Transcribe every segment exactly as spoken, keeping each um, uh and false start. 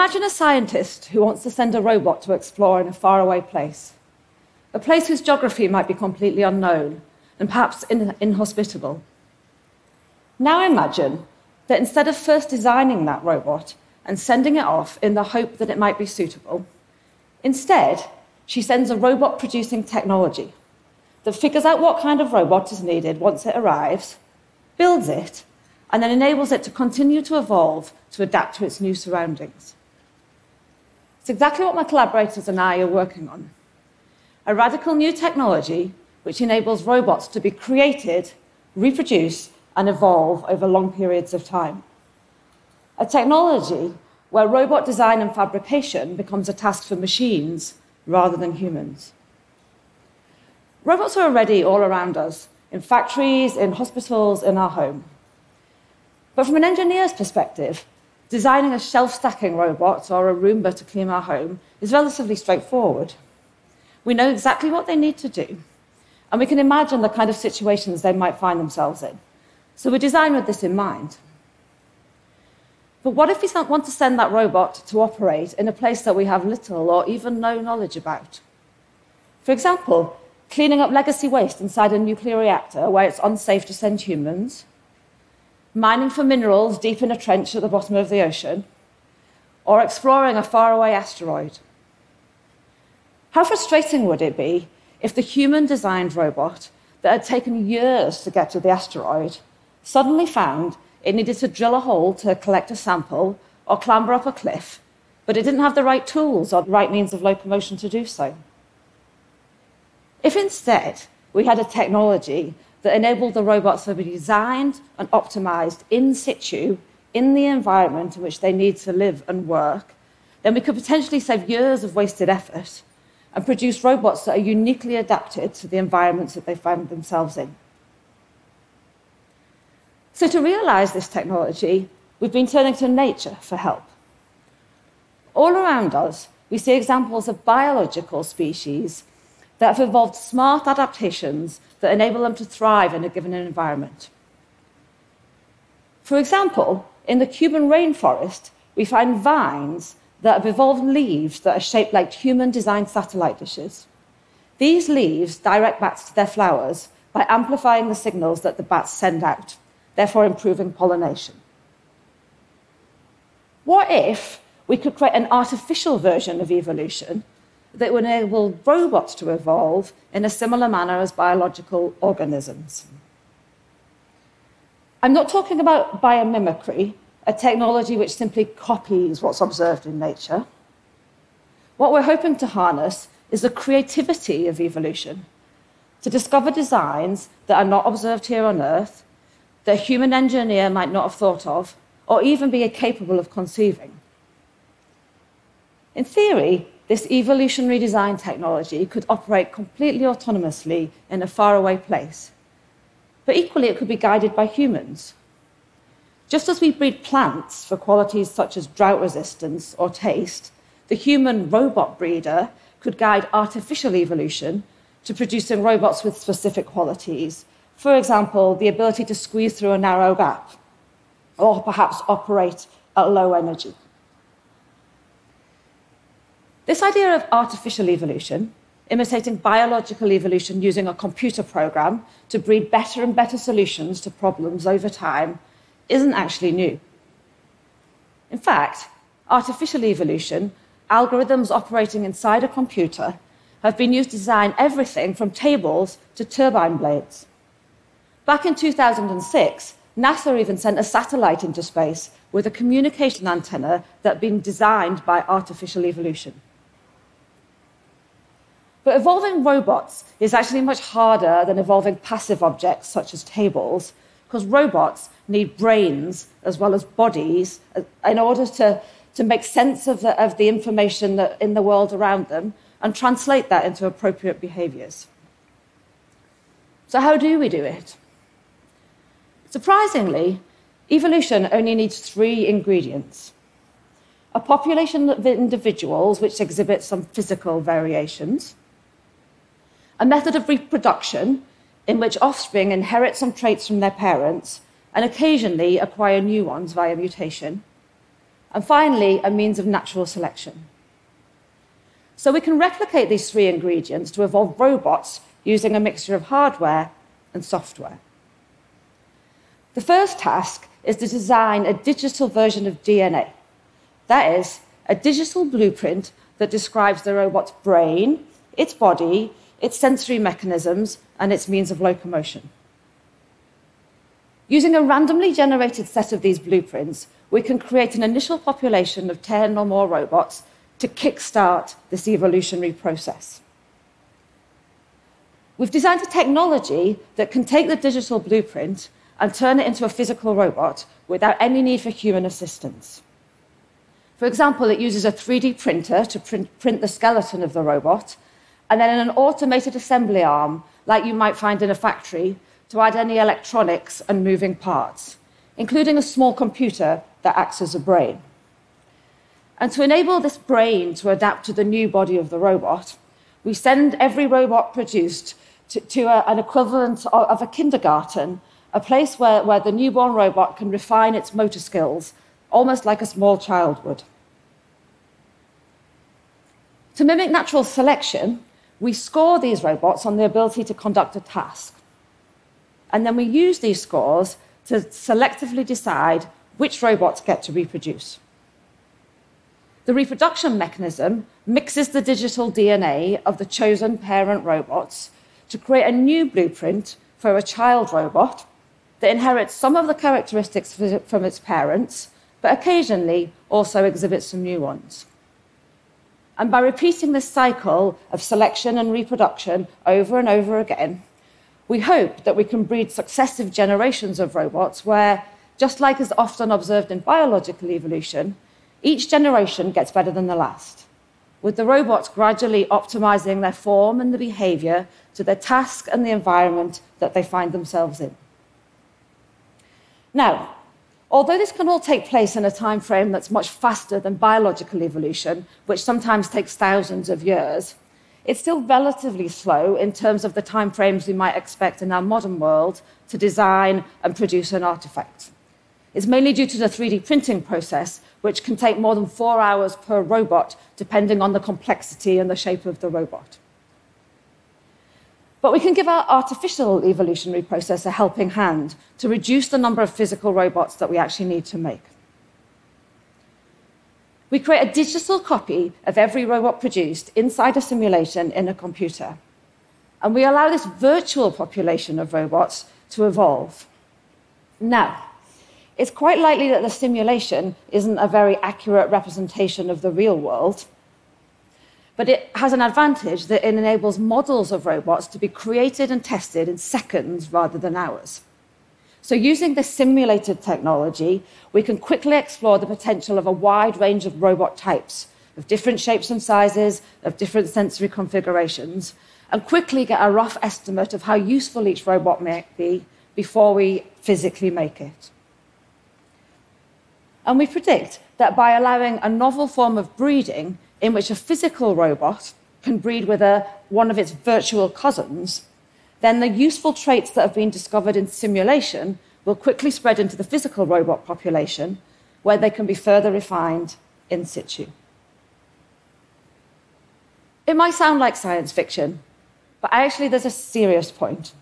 Imagine a scientist who wants to send a robot to explore in a faraway place, a place whose geography might be completely unknown and perhaps in- inhospitable. Now imagine that instead of first designing that robot and sending it off in the hope that it might be suitable, instead, she sends a robot-producing technology that figures out what kind of robot is needed once it arrives, builds it, and then enables it to continue to evolve to adapt to its new surroundings. It's exactly what my collaborators and I are working on. A radical new technology which enables robots to be created, reproduce, and evolve over long periods of time. A technology where robot design and fabrication becomes a task for machines rather than humans. Robots are already all around us, in factories, in hospitals, in our home. But from an engineer's perspective, designing a shelf-stacking robot or a Roomba to clean our home is relatively straightforward. We know exactly what they need to do, and we can imagine the kind of situations they might find themselves in. So we design with this in mind. But what if we want to send that robot to operate in a place that we have little or even no knowledge about? For example, cleaning up legacy waste inside a nuclear reactor where it's unsafe to send humans, mining for minerals deep in a trench at the bottom of the ocean, or exploring a faraway asteroid. How frustrating would it be if the human-designed robot that had taken years to get to the asteroid suddenly found it needed to drill a hole to collect a sample or clamber up a cliff, but it didn't have the right tools or the right means of locomotion to do so? If instead we had a technology that enabled the robots to be designed and optimized in situ in the environment in which they need to live and work, then we could potentially save years of wasted effort and produce robots that are uniquely adapted to the environments that they find themselves in. So to realize this technology, we've been turning to nature for help. All around us, we see examples of biological species that have evolved smart adaptations that enable them to thrive in a given environment. For example, in the Cuban rainforest, we find vines that have evolved leaves that are shaped like human-designed satellite dishes. These leaves direct bats to their flowers by amplifying the signals that the bats send out, therefore improving pollination. What if we could create an artificial version of evolution that would enable robots to evolve in a similar manner as biological organisms? I'm not talking about biomimicry, a technology which simply copies what's observed in nature. What we're hoping to harness is the creativity of evolution, to discover designs that are not observed here on Earth, that a human engineer might not have thought of, or even be capable of conceiving. In theory, this evolutionary design technology could operate completely autonomously in a faraway place. But equally, it could be guided by humans. Just as we breed plants for qualities such as drought resistance or taste, the human robot breeder could guide artificial evolution to producing robots with specific qualities. For example, the ability to squeeze through a narrow gap, or perhaps operate at low energy. This idea of artificial evolution, imitating biological evolution using a computer program to breed better and better solutions to problems over time, isn't actually new. In fact, artificial evolution, algorithms operating inside a computer, have been used to design everything from tables to turbine blades. Back in two thousand six, NASA even sent a satellite into space with a communication antenna that had been designed by artificial evolution. But evolving robots is actually much harder than evolving passive objects such as tables, because robots need brains as well as bodies in order to, to make sense of the, of the information that, in the world around them and translate that into appropriate behaviors. So how do we do it? Surprisingly, evolution only needs three ingredients: a population of individuals which exhibit some physical variations, a method of reproduction in which offspring inherit some traits from their parents and occasionally acquire new ones via mutation, and finally, a means of natural selection. So we can replicate these three ingredients to evolve robots using a mixture of hardware and software. The first task is to design a digital version of D N A. That is, a digital blueprint that describes the robot's brain, its body, its sensory mechanisms, and its means of locomotion. Using a randomly generated set of these blueprints, we can create an initial population of ten or more robots to kickstart this evolutionary process. We've designed a technology that can take the digital blueprint and turn it into a physical robot without any need for human assistance. For example, it uses a three D printer to print, print the skeleton of the robot, and then an automated assembly arm, like you might find in a factory, to add any electronics and moving parts, including a small computer that acts as a brain. And to enable this brain to adapt to the new body of the robot, we send every robot produced to, to a, an equivalent of, of a kindergarten, a place where, where the newborn robot can refine its motor skills, almost like a small child would. To mimic natural selection, we score these robots on the ability to conduct a task. And then we use these scores to selectively decide which robots get to reproduce. The reproduction mechanism mixes the digital D N A of the chosen parent robots to create a new blueprint for a child robot that inherits some of the characteristics from its parents, but occasionally also exhibits some new ones. And by repeating this cycle of selection and reproduction over and over again, we hope that we can breed successive generations of robots where, just like is often observed in biological evolution, each generation gets better than the last, with the robots gradually optimizing their form and the behavior to their task and the environment that they find themselves in. Now, although this can all take place in a time frame that's much faster than biological evolution, which sometimes takes thousands of years, it's still relatively slow in terms of the time frames we might expect in our modern world to design and produce an artifact. It's mainly due to the three D printing process, which can take more than four hours per robot, depending on the complexity and the shape of the robot. But we can give our artificial evolutionary process a helping hand to reduce the number of physical robots that we actually need to make. We create a digital copy of every robot produced inside a simulation in a computer. And we allow this virtual population of robots to evolve. Now, it's quite likely that the simulation isn't a very accurate representation of the real world, but it has an advantage that it enables models of robots to be created and tested in seconds rather than hours. So using this simulated technology, we can quickly explore the potential of a wide range of robot types, of different shapes and sizes, of different sensory configurations, and quickly get a rough estimate of how useful each robot may be before we physically make it. And we predict that by allowing a novel form of breeding in which a physical robot can breed with a, one of its virtual cousins, then the useful traits that have been discovered in simulation will quickly spread into the physical robot population, where they can be further refined in situ. It might sound like science fiction, but actually there's a serious point.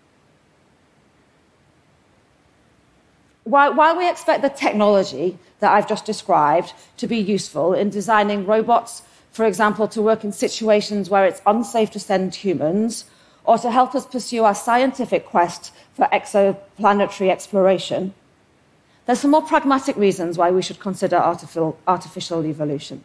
While, while we expect the technology that I've just described to be useful in designing robots, for example, to work in situations where it's unsafe to send humans, or to help us pursue our scientific quest for exoplanetary exploration, there's some more pragmatic reasons why we should consider artificial, artificial evolution.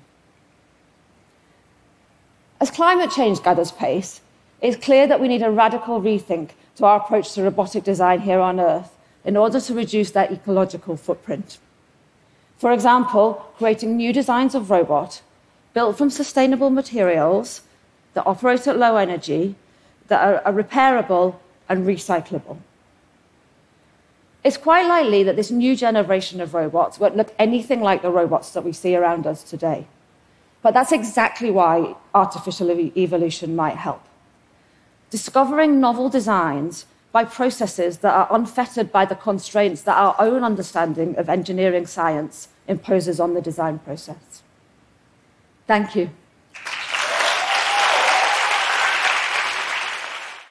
As climate change gathers pace, it's clear that we need a radical rethink to our approach to robotic design here on Earth in order to reduce their ecological footprint. For example, creating new designs of robot built from sustainable materials that operate at low energy, that are, are repairable and recyclable. It's quite likely that this new generation of robots won't look anything like the robots that we see around us today. But that's exactly why artificial evolution might help. Discovering novel designs by processes that are unfettered by the constraints that our own understanding of engineering science imposes on the design process. Thank you.